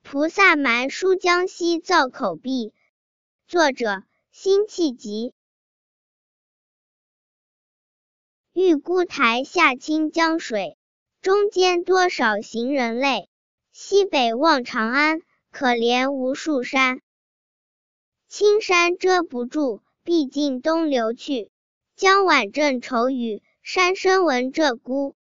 菩萨蛮书江西造口壁。作者辛弃疾。玉孤台下清江水，中间多少行人泪。西北望长安，可怜无数山。青山遮不住，毕竟东流去。江晚正愁雨，山深闻鹧鸪。